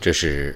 这是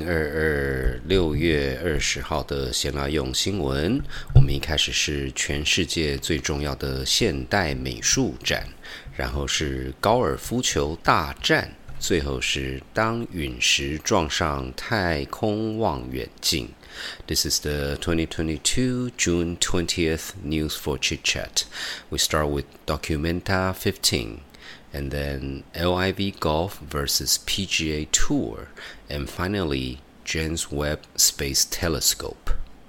2022 6月20号的闲聊用新闻。我们一开始是全世界最重要的现代美术展，然后是高尔夫球大战，最后是当陨石撞上太空望远镜。This is the 2022 June 20th News for Chit Chat. We start with Documenta 15.And then LIV Golf versus PGA Tour, and finally James Webb Space Telescope.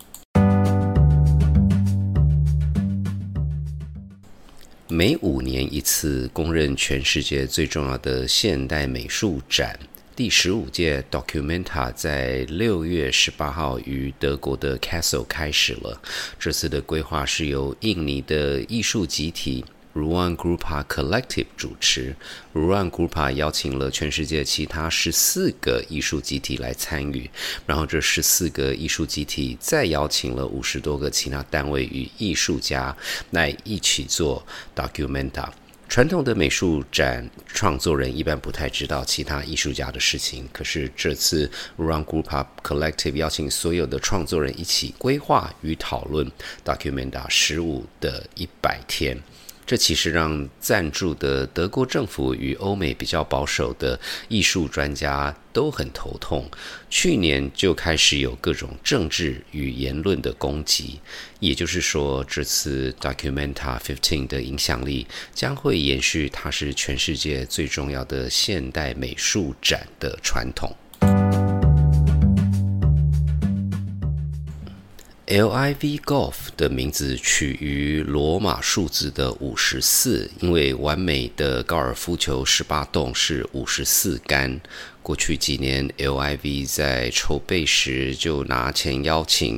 每5年一次，公认全世界最重要的现代美术展。第15届 Documenta 在6月18号于德国的 Kassel 开始了。这次的规划是由印尼的艺术集体Ruang Grupa Collective 主持。Ruang Grupa 邀请了全世界其他14个艺术集体来参与，然后这14个艺术集体再邀请了50多个其他单位与艺术家来一起做 Documenta。传统的美术展创作人一般不太知道其他艺术家的事情，可是这次 Ruang Grupa Collective 邀请所有的创作人一起规划与讨论 Documenta 15的100天。这其实让赞助的德国政府与欧美比较保守的艺术专家都很头痛。去年就开始有各种政治与言论的攻击，也就是说，这次 Documenta 15的影响力将会延续它是全世界最重要的现代美术展的传统。LIV Golf 的名字取于罗马数字的54，因为完美的高尔夫球18洞是54杆。过去几年 LIV 在筹备时就拿钱邀请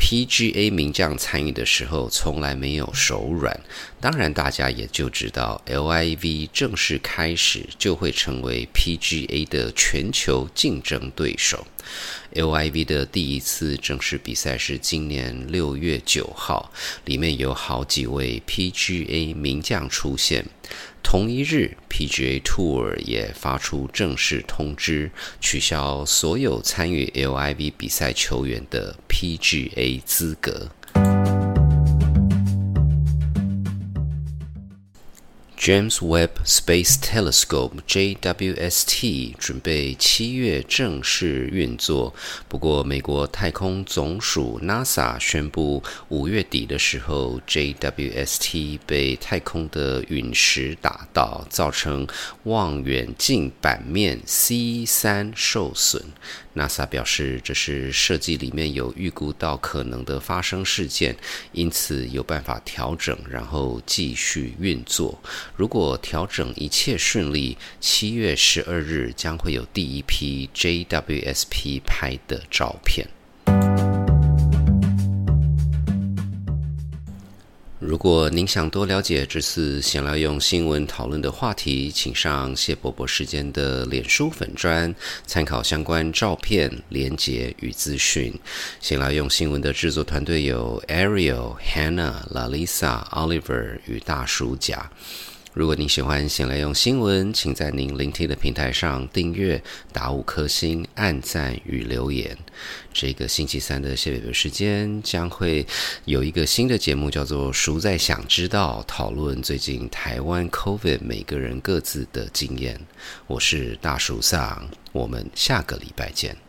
PGA 名将参与的时候从来没有手软，当然大家也就知道 LIV 正式开始就会成为 PGA 的全球竞争对手。LIV 的第一次正式比赛是今年6月9号，里面有好几位 PGA 名将出现。同一日 PGA Tour 也发出正式通知，取消所有参与 LIV 比赛球员的 PGA 资格。James Webb Space Telescope JWST 准备7月正式运作，不过美国太空总署 NASA 宣布5月底的时候 JWST 被太空的陨石打到，造成望远镜版面 C3 受损。NASA 表示这是设计里面有预估到可能的发生事件，因此有办法调整，然后继续运作。如果调整一切顺利，7月12日将会有第一批 JWST 拍的照片。如果您想多了解这次闲聊用新闻讨论的话题，请上谢伯伯时间的脸书粉专，参考相关照片、连结与资讯。闲聊用新闻的制作团队有 Ariel、Hannah、Lalisa、Oliver 与大叔甲。如果您喜欢闲来用新闻，请在您聆听的平台上订阅、打5颗星、按赞与留言。这个星期三的谢北北时间将会有一个新的节目，叫做熟在想知道，讨论最近台湾 COVID 每个人各自的经验。我是大叔桑，我们下个礼拜见。